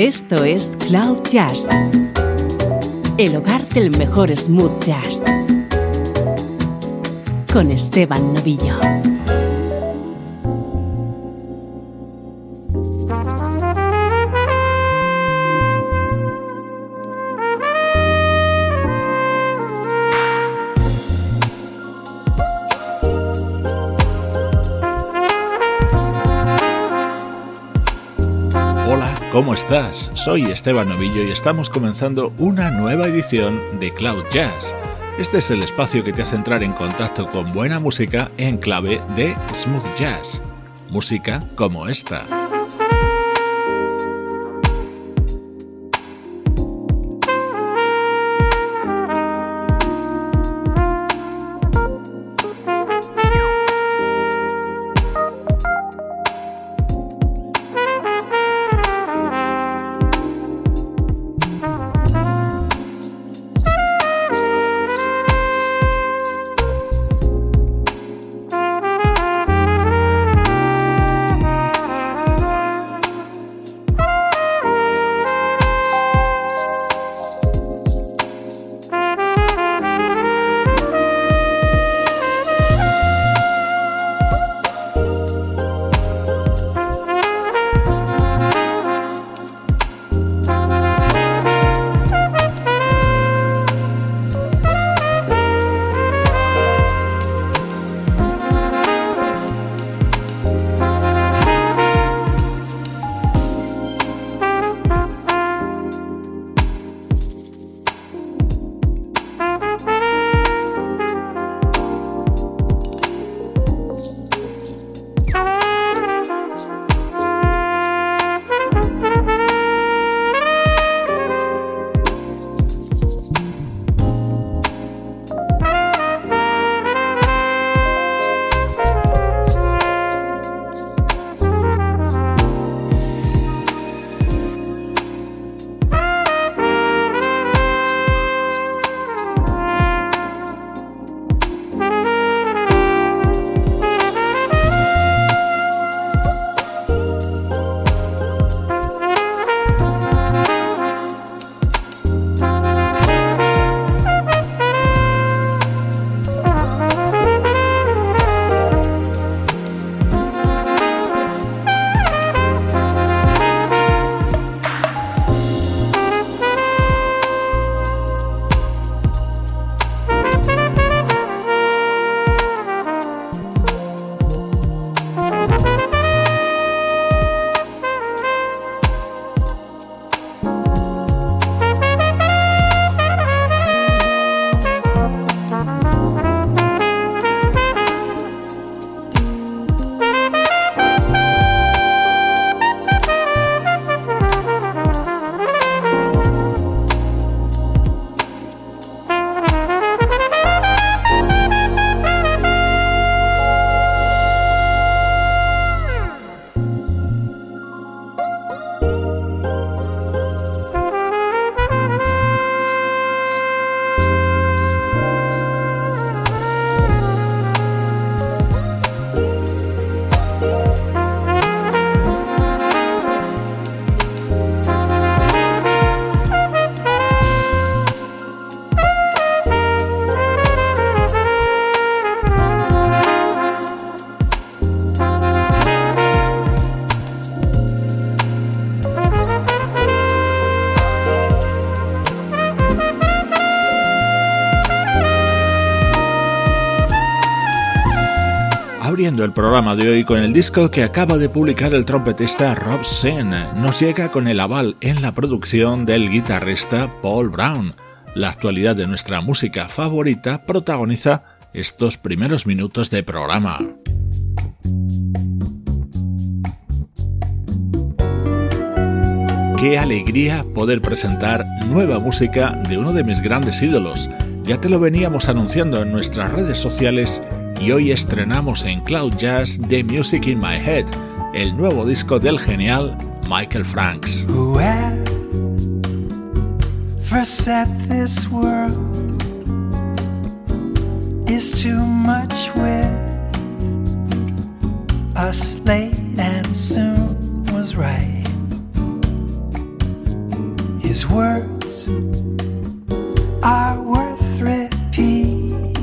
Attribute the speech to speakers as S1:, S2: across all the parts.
S1: Esto es Cloud Jazz, el hogar del mejor smooth jazz, con Esteban Novillo.
S2: ¿Cómo estás? Soy Esteban Novillo y estamos comenzando una nueva edición de Cloud Jazz. Este es el espacio que te hace entrar en contacto con buena música en clave de smooth jazz. Música como esta. El programa de hoy con el disco que acaba de publicar el trompetista Rob Zinn. Nos llega con el aval en la producción del guitarrista Paul Brown. La actualidad de nuestra música favorita protagoniza estos primeros minutos de programa. Qué alegría poder presentar nueva música de uno de mis grandes ídolos. Ya te lo veníamos anunciando en nuestras redes sociales y hoy estrenamos en Cloud Jazz The Music in My Head, el nuevo disco del genial Michael Franks.
S3: Whoever said this world is too much with us late and soon was right. His words are worth repeating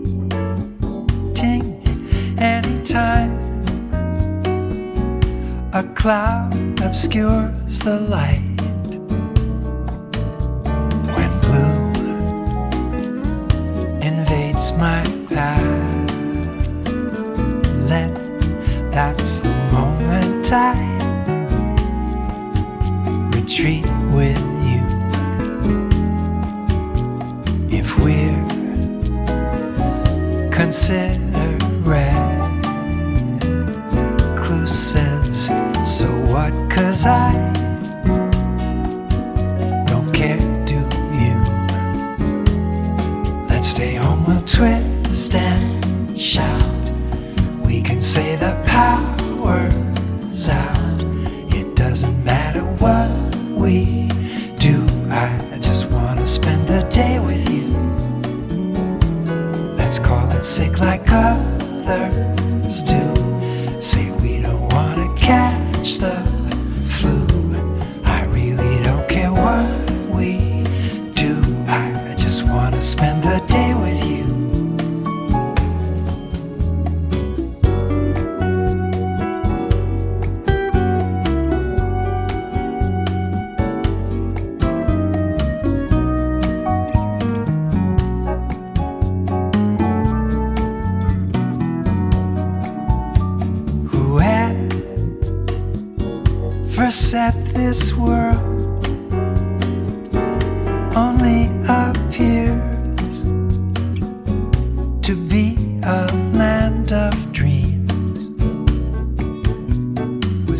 S3: anytime a cloud obscures the light. When blue invades my path, that's the moment I retreat with you. If we're considered recluses, so what? 'Cause I don't care, do you? Let's stay home, we'll twist and shout. We can say the power's out. It doesn't matter what we do. I just wanna spend the day with you. Let's call it sick like others do. Say we don't wanna catch the flu. I really don't care what we do. I just wanna spend the day with you. Set this world only appears to be a land of dreams. We're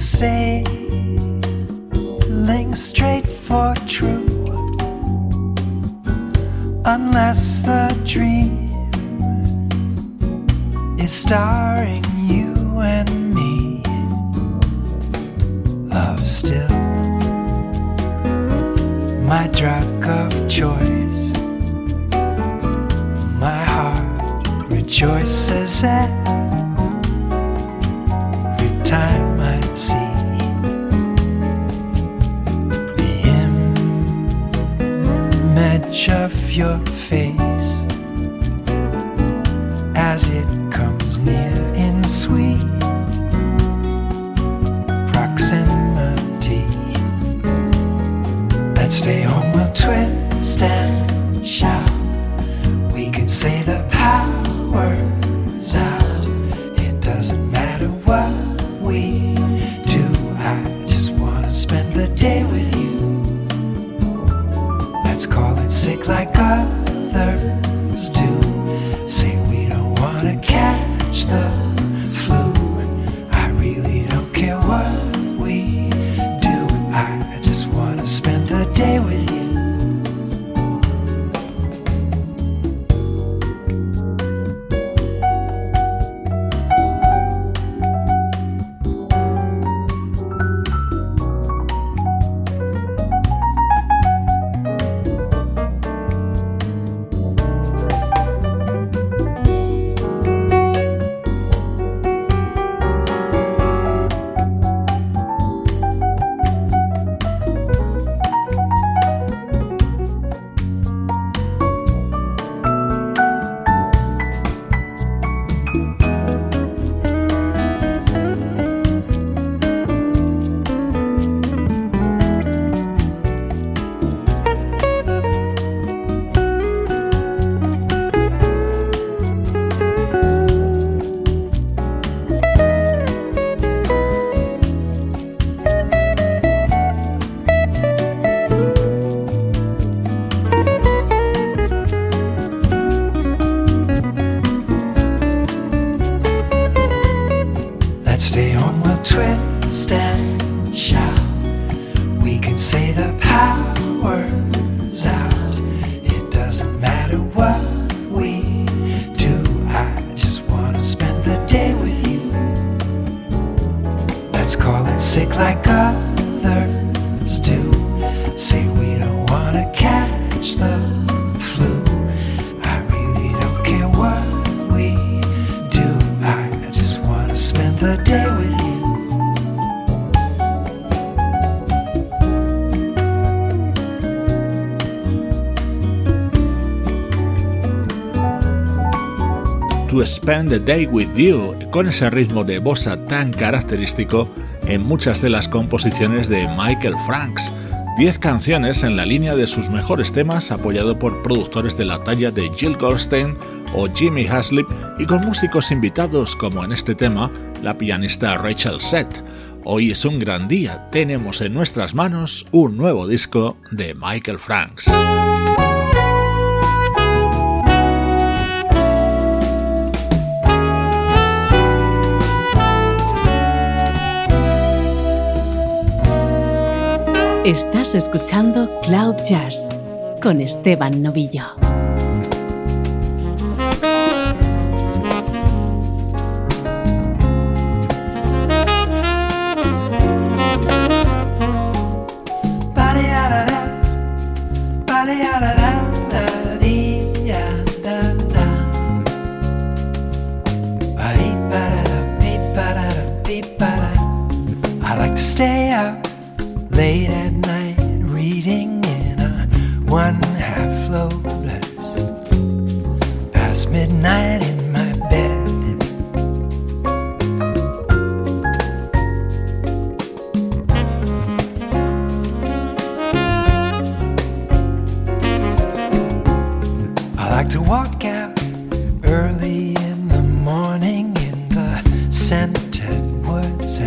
S3: sailing straight for true, unless the dream is starring you and me. Love still my drug of choice. My heart rejoices every time I see the image of your face as it comes near in sweet proximity. Let's stay home, we'll twist and shout. We can say the power's out. It doesn't matter what we do. I just wanna spend the day with you. Let's call it sick like others do. Say we don't wanna catch the flu. I really don't care what we do. I just wanna spend the day with you. Stay home, we'll twist and shout. We can say the power's out. It doesn't matter what we do. I just wanna spend the day with you. Let's call it sick like others do. Say we don't wanna catch the flu. I really don't care what we do. I just wanna spend the day with you.
S2: to Spend the Day With You, con ese ritmo de bossa tan característico en muchas de las composiciones de Michael Franks. 10 canciones en la línea de sus mejores temas, apoyado por productores de la talla de Jill Goldstein o Jimmy Haslip y con músicos invitados como en este tema la pianista Rachel Seth. Hoy es un gran día, tenemos en nuestras manos un nuevo disco de Michael Franks.
S1: Estás escuchando Cloud Jazz con Esteban Novillo.
S3: I like to stay up late at night, reading in a 1/2 Lotus, past midnight in my bed. I like to walk out early in the morning in the scented woods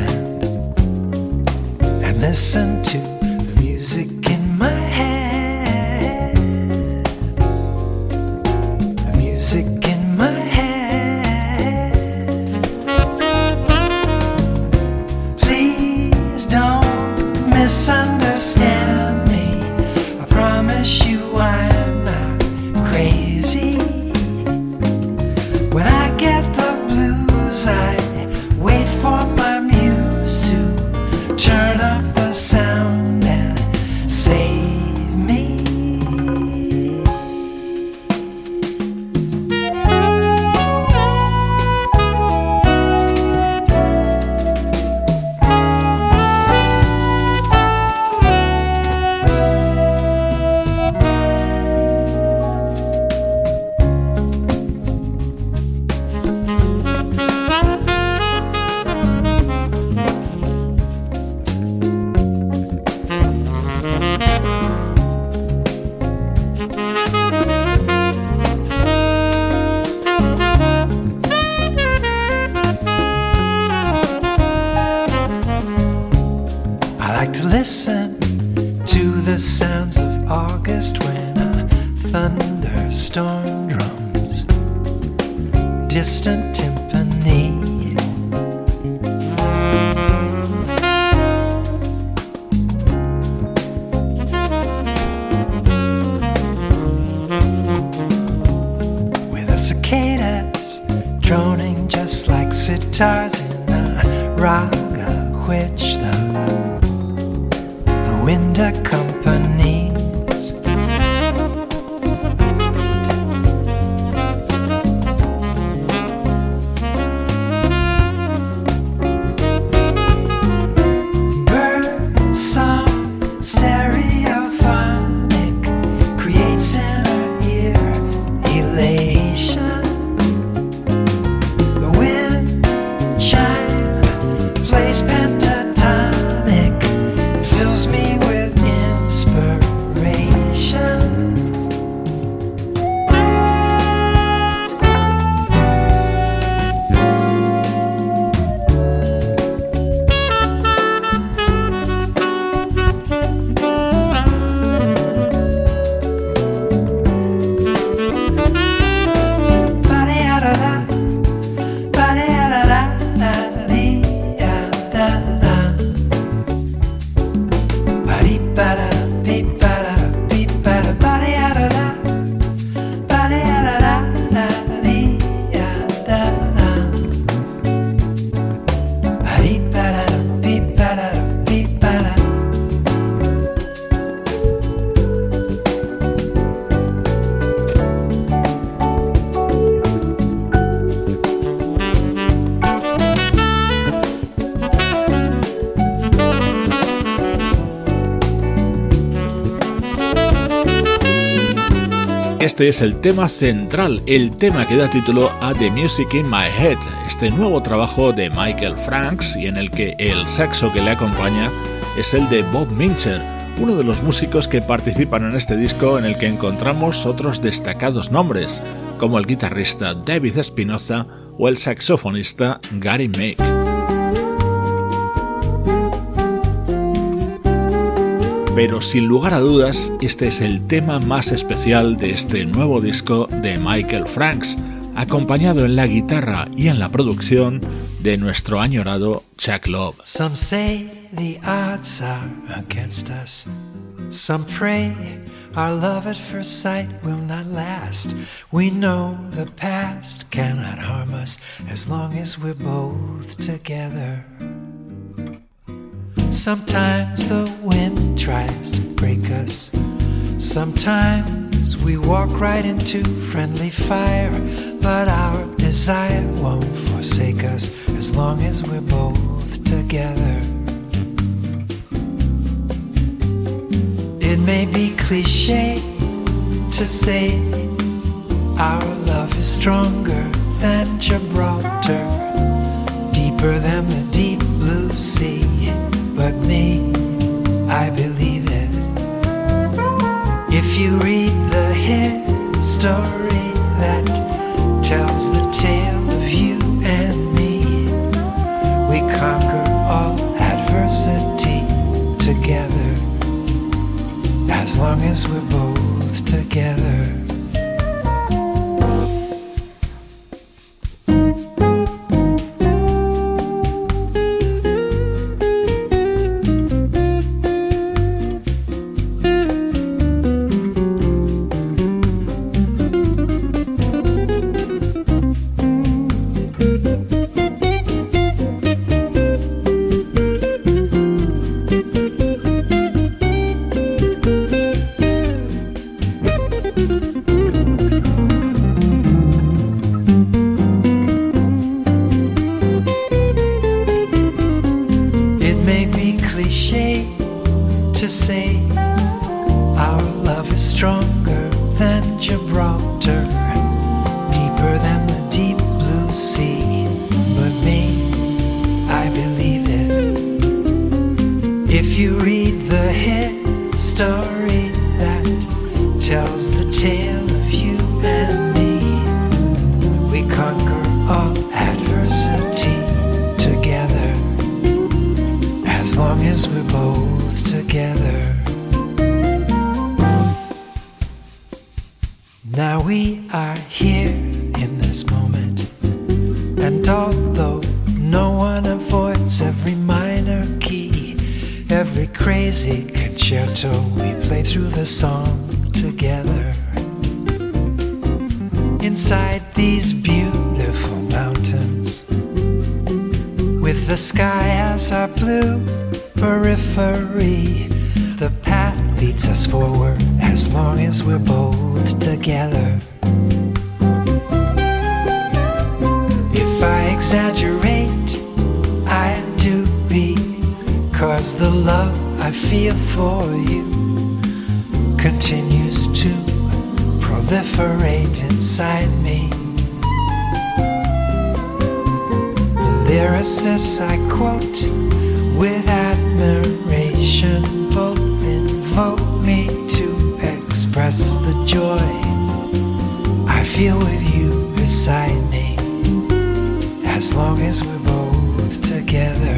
S3: and listen to the music in my head. The music in my head. Please don't misunderstand me. I promise you I'm not crazy. When I get the blues, I wait for my muse to turn up the sound and save me. Listen to the sounds of August when a thunderstorm drums distant timpani. With the cicadas droning just like sitars in a raga which the wind accompanies. Bird song stereophonic creates inner ear elation. The wind chime plays pentatonic, fills me with inspiration.
S2: Este es el tema central, el tema que da título a The Music in My Head, este nuevo trabajo de Michael Franks y en el que el saxo que le acompaña es el de Bob Mincher, uno de los músicos que participan en este disco, en el que encontramos otros destacados nombres, como el guitarrista David Espinoza o el saxofonista Gary Meek. Pero sin lugar a dudas, este es el tema más especial de este nuevo disco de Michael Franks, acompañado en la guitarra y en la producción de nuestro añorado Chuck Love.
S3: Some say the odds are against us. Some pray our love at first sight will not last. We know the past cannot harm us as long as we're both together. Sometimes the wind tries to break us. Sometimes we walk right into friendly fire. But our desire won't forsake us as long as we're both together. It may be cliché to say our love is stronger than Gibraltar, deeper than the deep blue sea. But me, I believe it. If you read the history that tells the tale of you and me, we conquer all adversity together, as long as we're both together. The sky as our blue periphery. The path leads us forward as long as we're both together. If I exaggerate, I do because the love I feel for you continues to proliferate inside me. Lyricists I quote with admiration both invoke me to express the joy I feel with you beside me, as long as we're both together.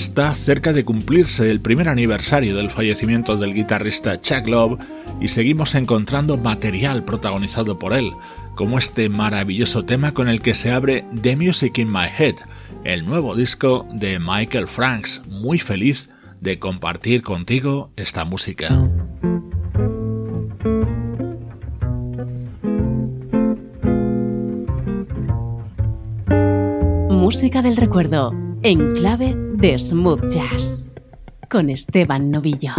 S2: Está cerca de cumplirse el primer aniversario del fallecimiento del guitarrista Chuck Love y seguimos encontrando material protagonizado por él, como este maravilloso tema con el que se abre The Music in My Head, el nuevo disco de Michael Franks. Muy feliz de compartir contigo esta música.
S1: Música del recuerdo, en clave de smooth jazz, con Esteban Novillo.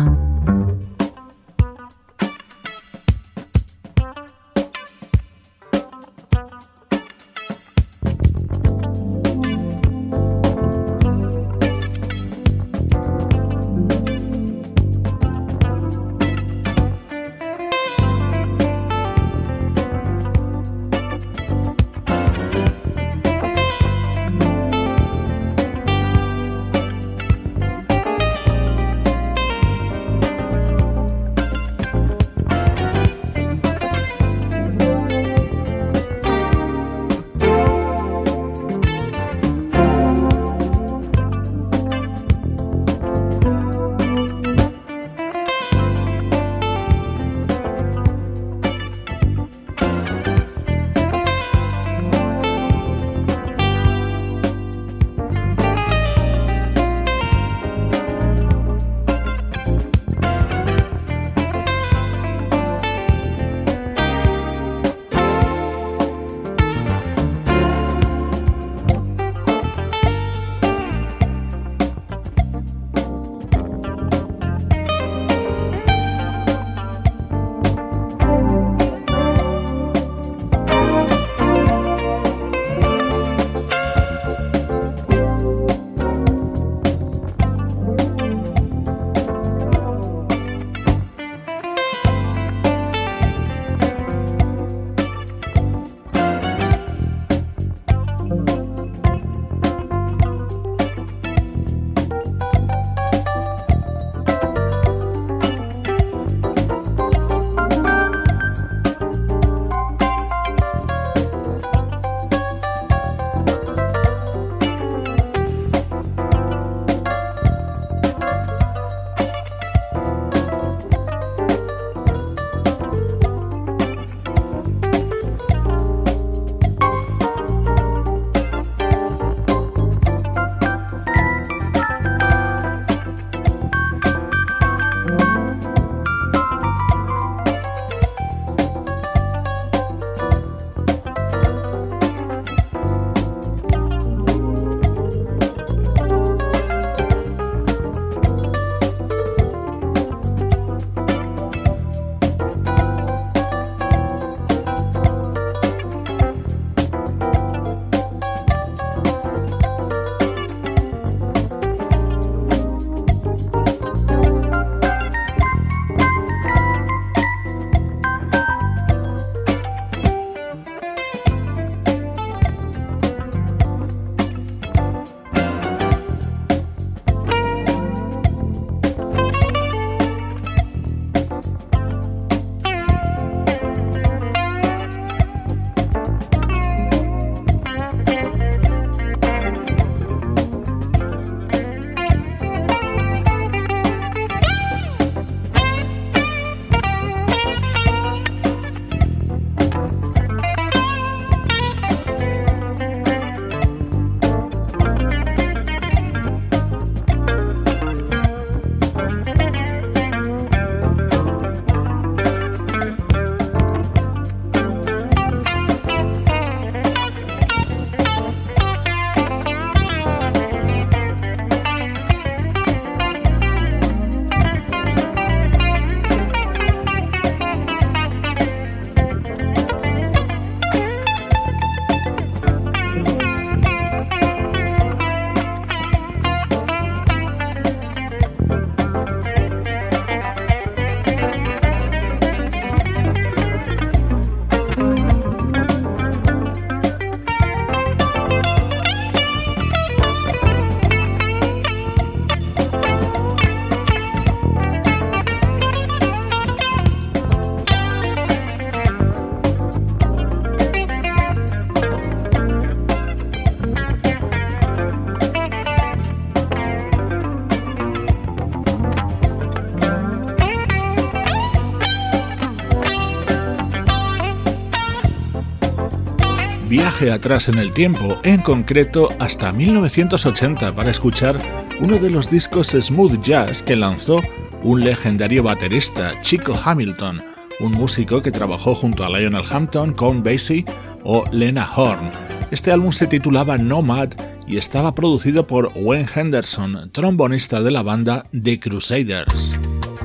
S2: viaje atrás en el tiempo, en concreto hasta 1980, para escuchar uno de los discos smooth jazz que lanzó un legendario baterista, Chico Hamilton, un músico que trabajó junto a Lionel Hampton, Count Basie o Lena Horne. Este álbum se titulaba Nomad y estaba producido por Wayne Henderson, trombonista de la banda The Crusaders.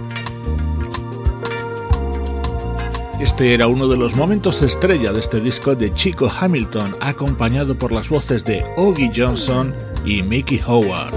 S2: Este era uno de los momentos estrella de este disco de Chico Hamilton, acompañado por las voces de Oggie Johnson y Mickey Howard.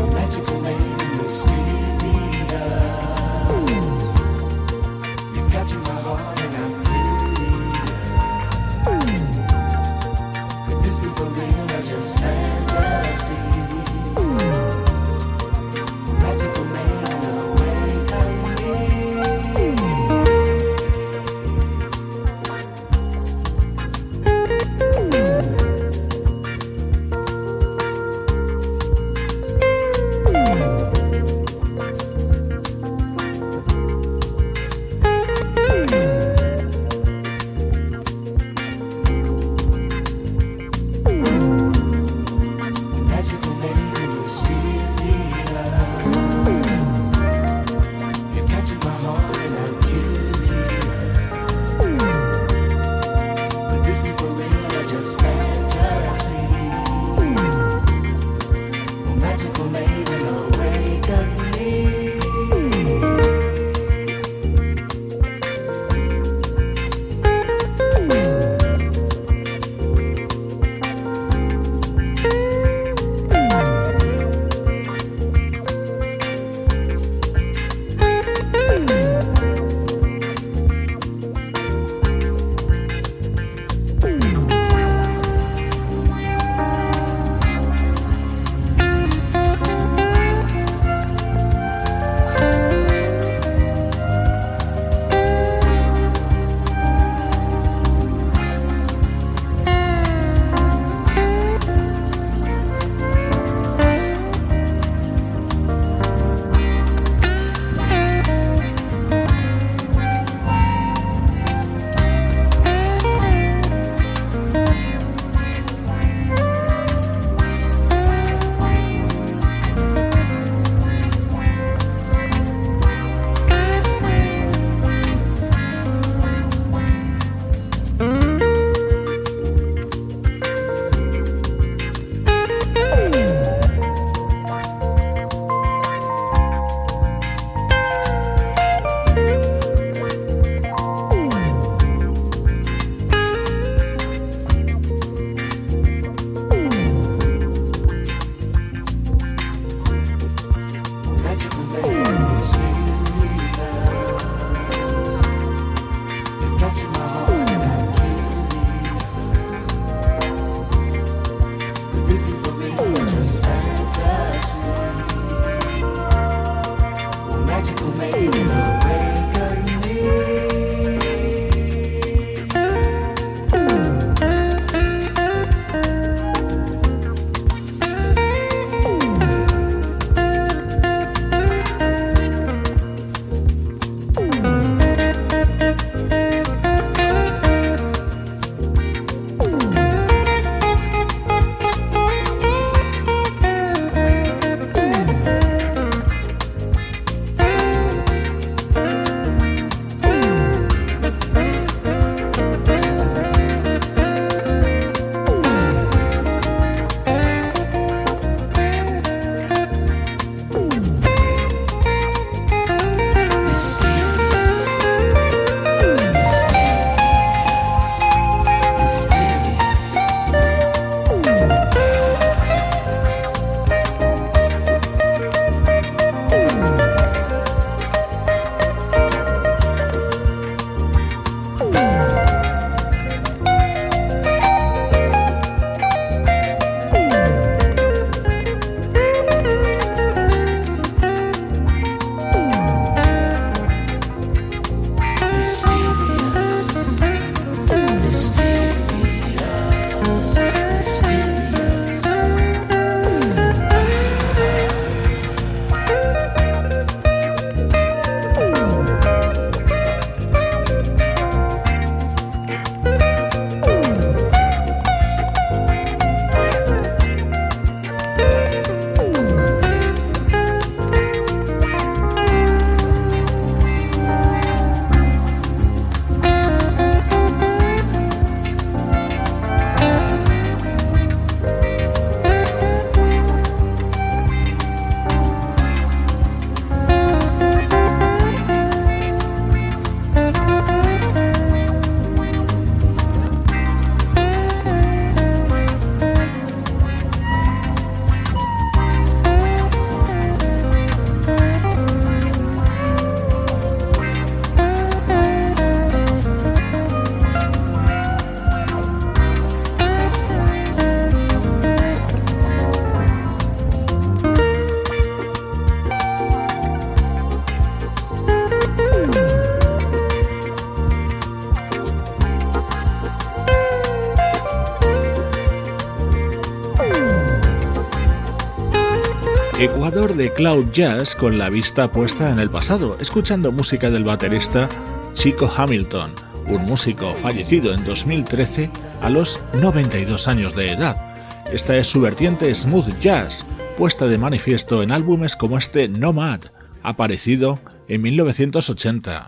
S2: Ecuador de Cloud Jazz con la vista puesta en el pasado, escuchando música del baterista Chico Hamilton, un músico fallecido en 2013 a los 92 años de edad. Esta es su vertiente smooth jazz, puesta de manifiesto en álbumes como este Nomad, aparecido en 1980.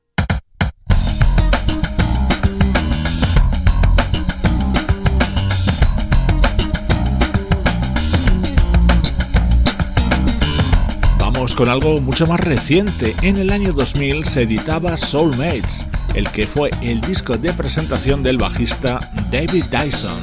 S2: Con algo mucho más reciente. En el año 2000 se editaba Soulmates, el que fue el disco de presentación del bajista David Dyson.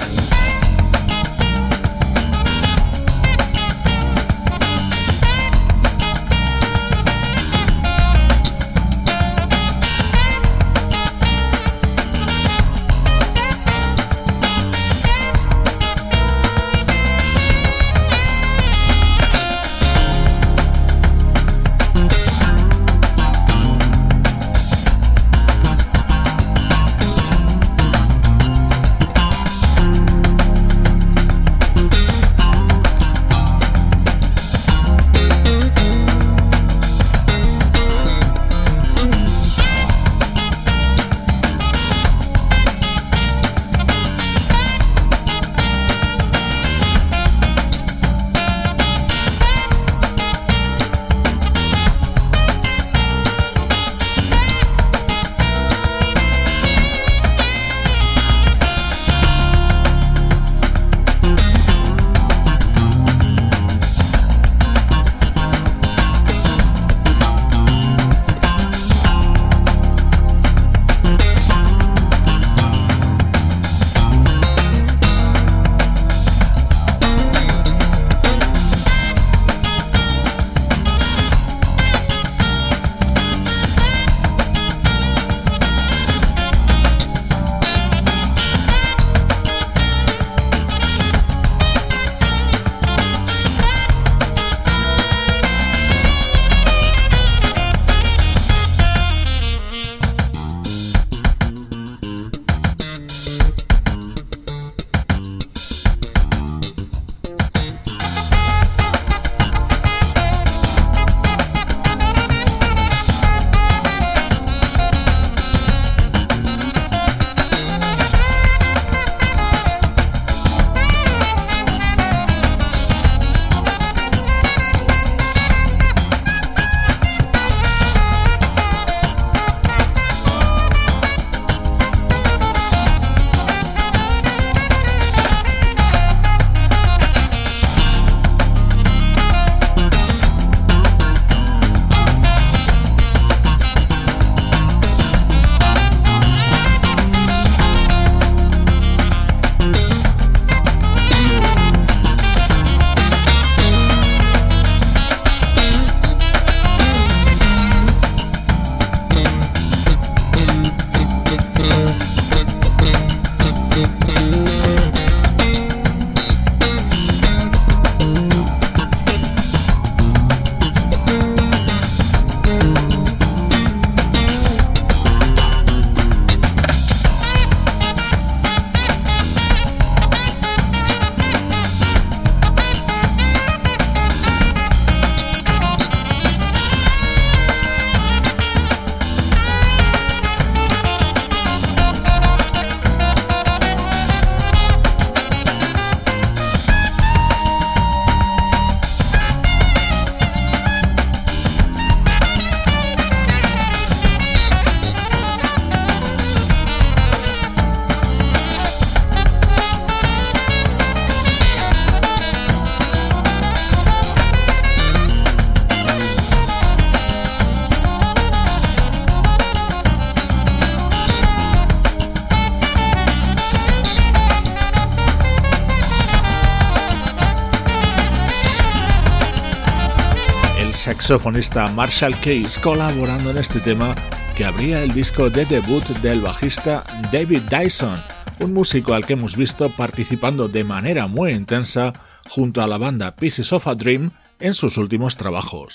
S2: saxofonista Marshall Case colaborando en este tema que abría el disco de debut del bajista David Dyson, un músico al que hemos visto participando de manera muy intensa junto a la banda Pieces of a Dream en sus últimos trabajos.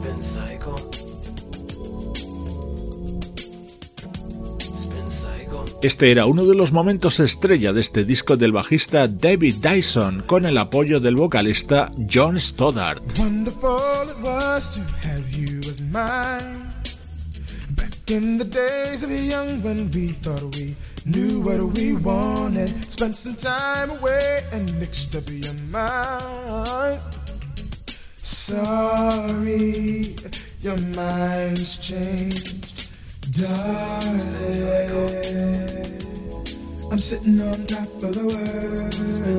S4: Spin cycle.
S2: Este era uno de los momentos estrella de este disco del bajista David Dyson, con el apoyo del vocalista John Stoddard.
S4: Wonderful it was to have you as mine. Back in the days of young when we thought we knew what we wanted. Spent some time away and mixed up your mind. Sorry, your mind's changed. Darling, I'm sitting on top of the world.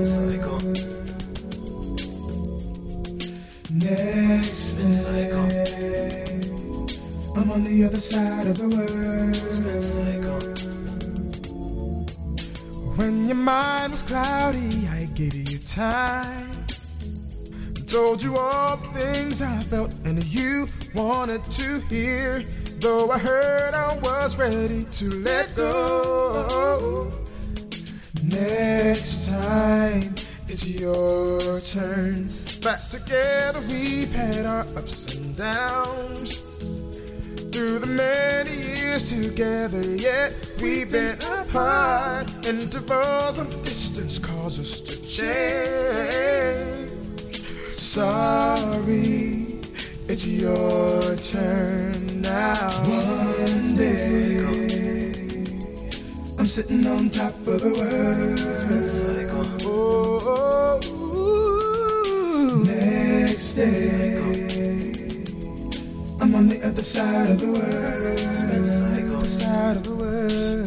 S4: Next day, I'm on the other side of the world. When your mind was cloudy, I gave you time. Told you all the things I felt and you wanted to hear. Though I heard I was ready to let go. Next time it's your turn. Back together we've had our ups and downs. Through the many years together, yet we've been apart. Intervals of distance cause us to change. Sorry, it's your turn now. One day, I'm sitting on top of the world. Oh, next day, I'm on the other side of the world. Other side of the world.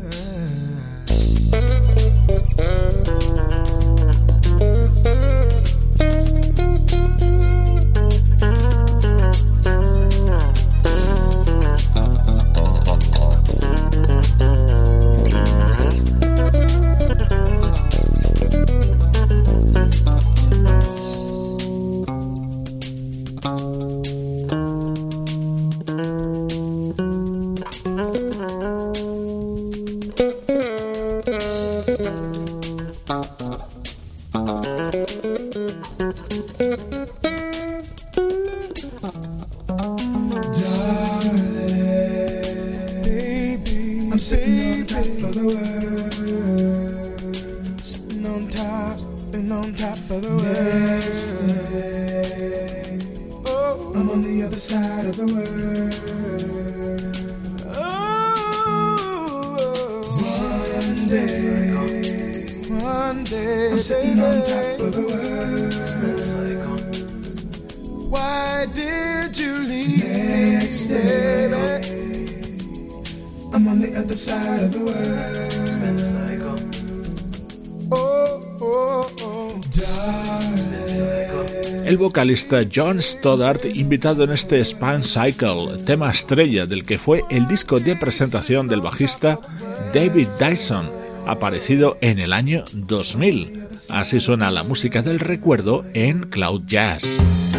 S2: El vocalista John Stoddard, invitado en este Span Cycle, tema estrella del que fue el disco de presentación del bajista David Dyson, aparecido en el año 2000. Así suena la música del recuerdo en Cloud Jazz.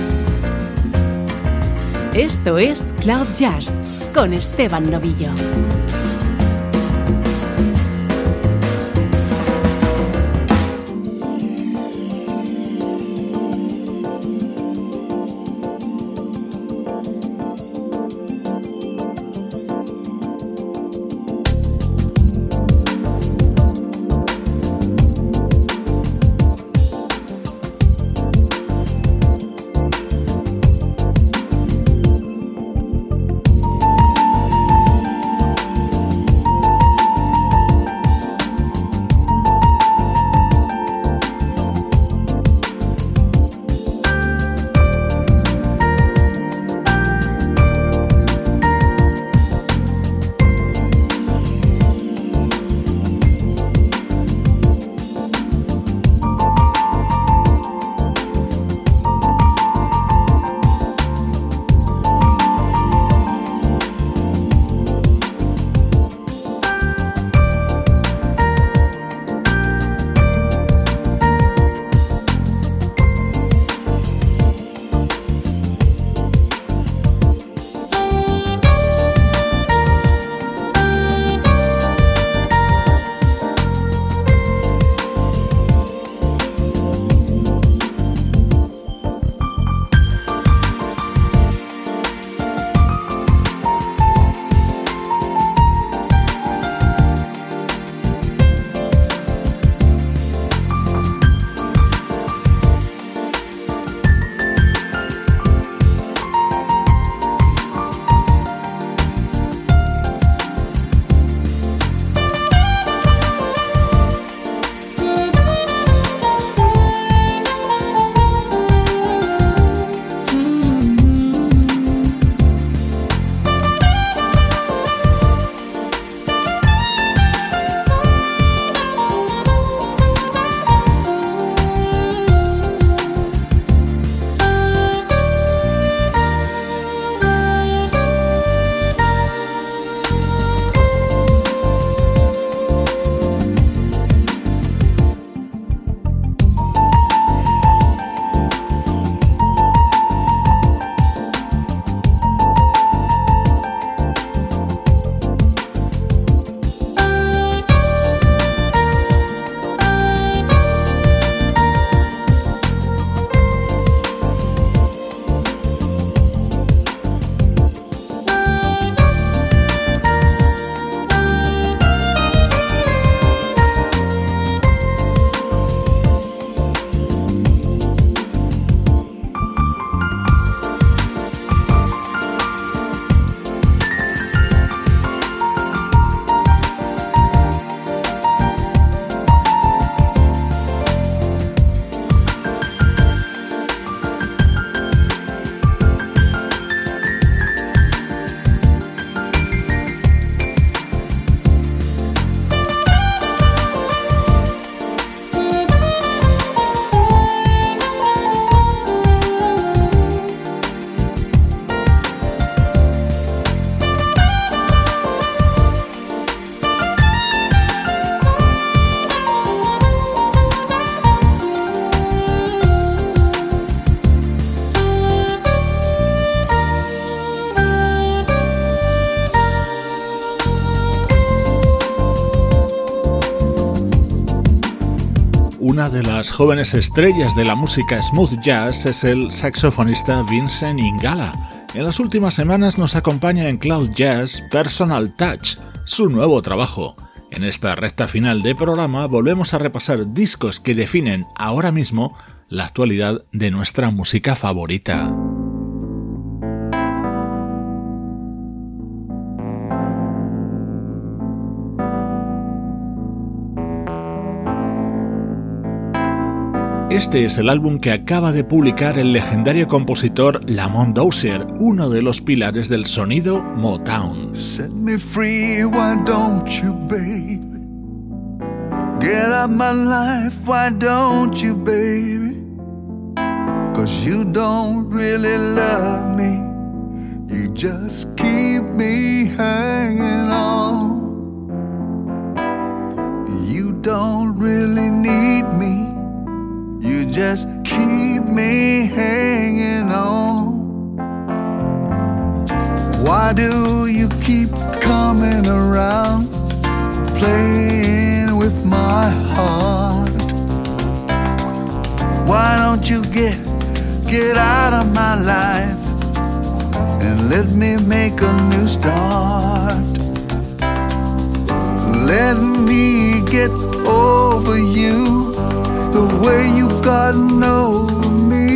S1: Esto es Cloud Jazz con Esteban Novillo.
S2: Una de las jóvenes estrellas de la música smooth jazz es el saxofonista Vincent Ingala. En las últimas semanas nos acompaña en Cloud Jazz Personal Touch, su nuevo trabajo. En esta recta final de programa volvemos a repasar discos que definen ahora mismo la actualidad de nuestra música favorita. Este es el álbum que acaba de publicar el legendario compositor Lamont Dozier, uno de los pilares del sonido Motown.
S5: Set me free, why don't you, baby? Get out my life, why don't you, baby? 'Cause you don't really love me, you just keep me hanging on. You don't really need me, you just keep me hanging on. Why do you keep coming around, playing with my heart? Why don't you get out of my life and let me make a new start? Let me get over you the way you've gotten over me,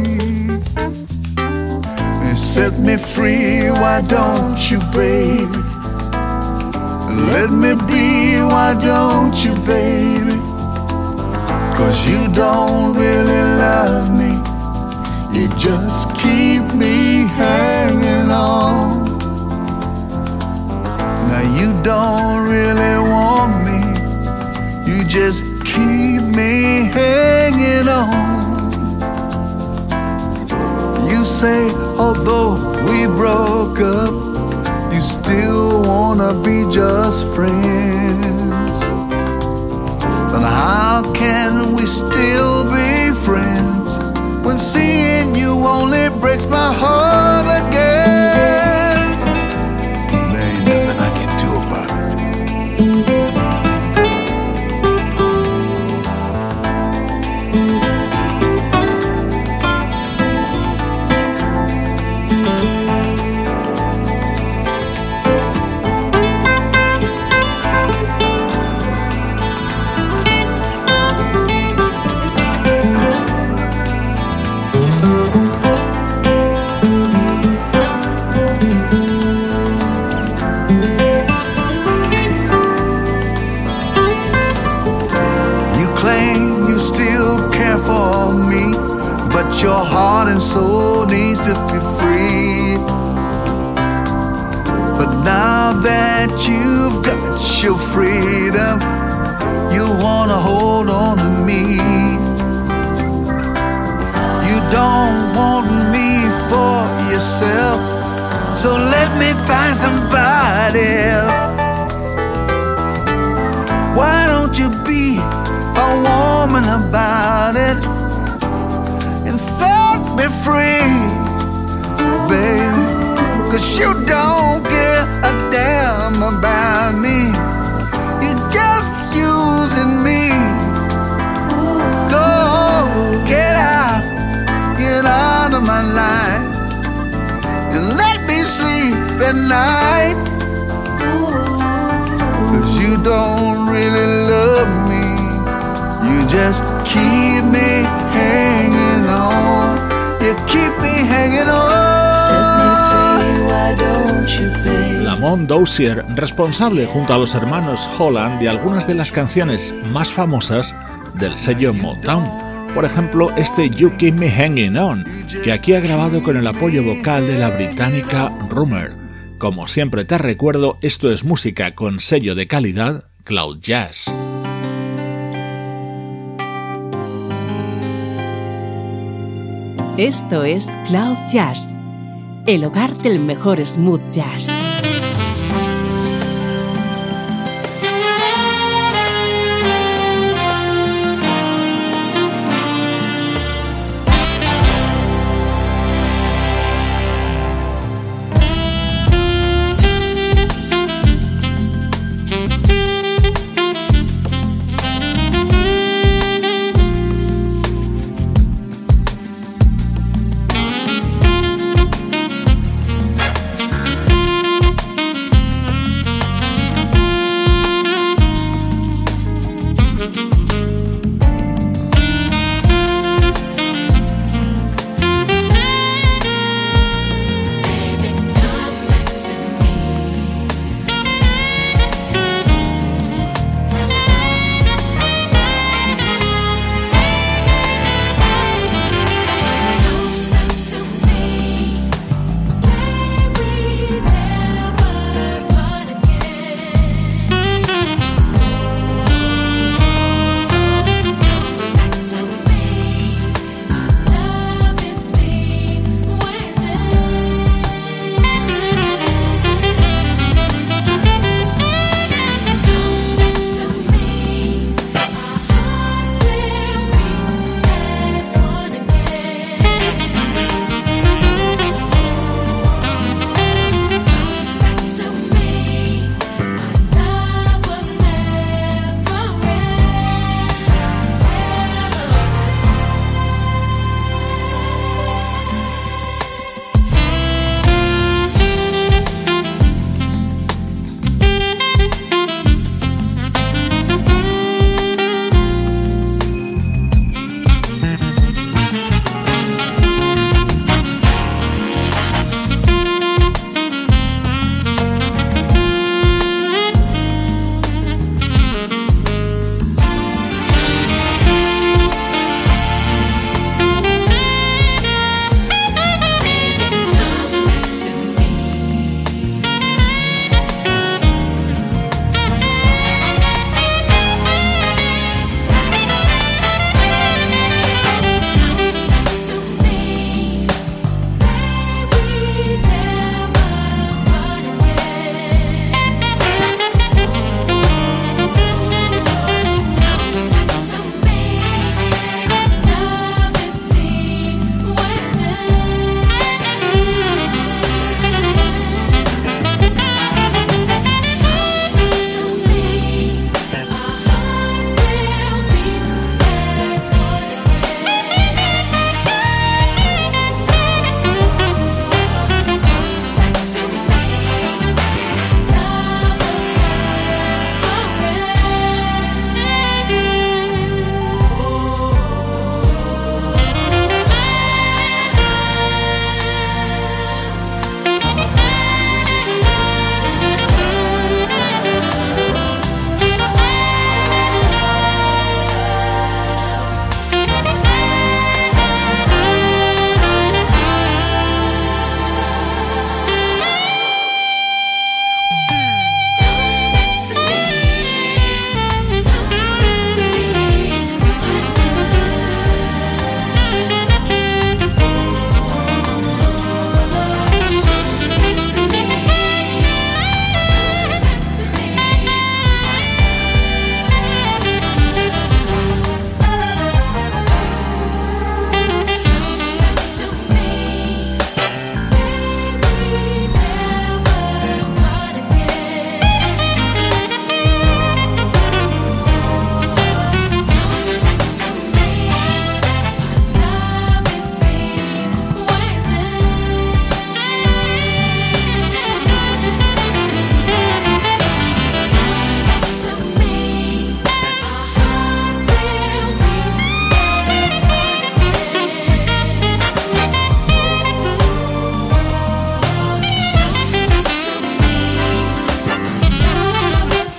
S5: and set me free, why don't you, baby? Let me be, why don't you, baby? 'Cause you don't really love me, you just keep me hanging on. Now you don't really want me, you just keep me hanging on. You say, although we broke up, you still wanna be just friends. But how can we still be friends when seeing you only breaks my heart again? There ain't nothing I can do about it. Your heart and soul needs to be free. But now that you've got your freedom, you wanna hold on to me. You don't want me for yourself, so let me find somebody else. Why don't you be a woman about it and set me free, baby? 'Cause you don't give a damn about me, you're just using me. Go, get out of my life and let me sleep at night. 'Cause you don't really love me, you just keep me hanging on. You keep me hanging on.
S3: Set me free, why don't you, babe?
S2: Lamont Dozier, responsable junto a los hermanos Holland de algunas de las canciones más famosas del sello Motown. Por ejemplo, este You Keep Me Hanging On, que aquí ha grabado con el apoyo vocal de la británica Rumer. Como siempre te recuerdo, esto es música con sello de calidad Cloud Jazz.
S1: Esto es Cloud Jazz, el hogar del mejor smooth jazz.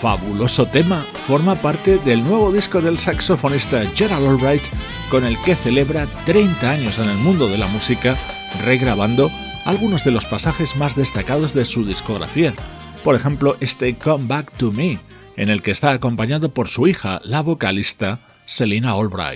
S2: fabuloso tema forma parte del nuevo disco del saxofonista Gerald Albright, con el que celebra 30 años en el mundo de la música, regrabando algunos de los pasajes más destacados de su discografía. Por ejemplo, este Come Back to Me, en el que está acompañado por su hija, la vocalista Selena Albright.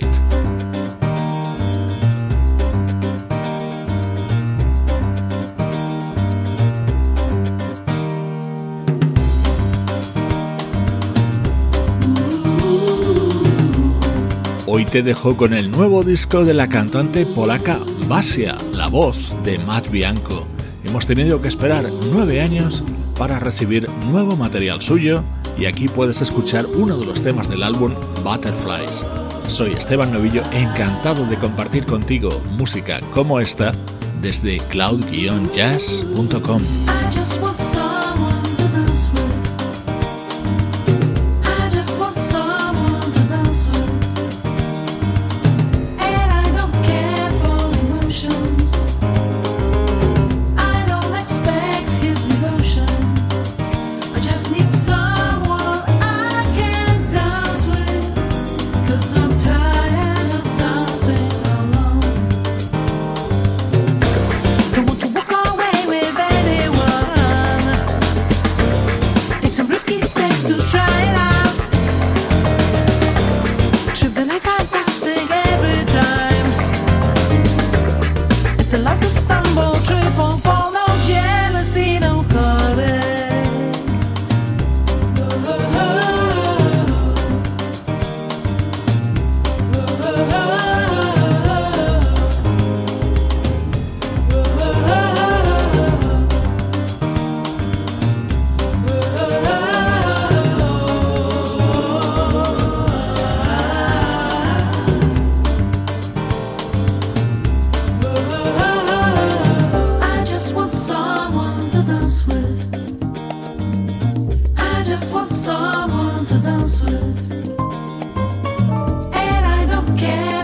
S2: Hoy te dejo con el nuevo disco de la cantante polaca Basia, la voz de Matt Bianco. Hemos tenido que esperar 9 años para recibir nuevo material suyo y aquí puedes escuchar uno de los temas del álbum Butterflies. Soy Esteban Novillo, encantado de compartir contigo música como esta desde cloud-jazz.com.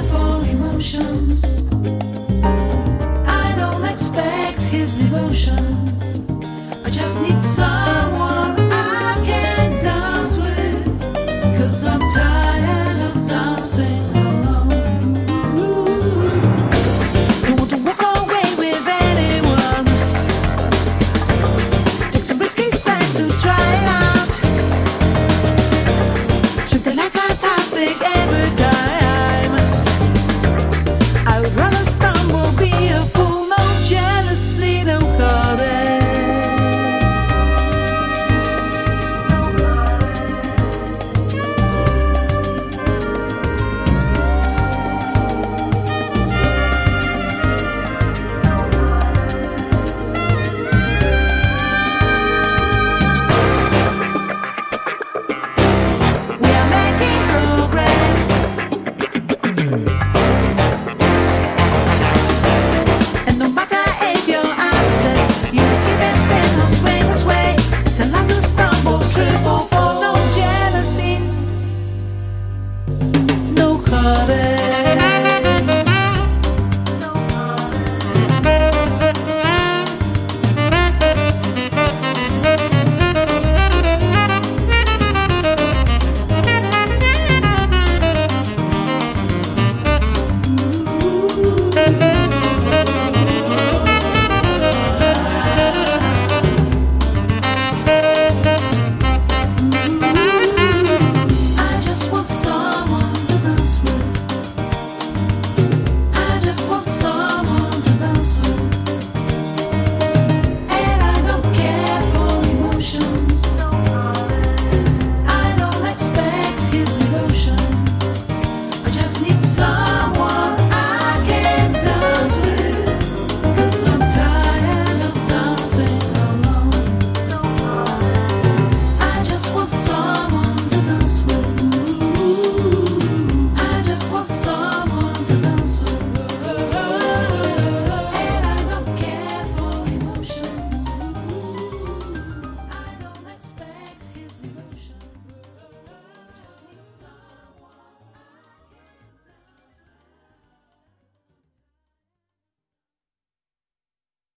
S6: Devotion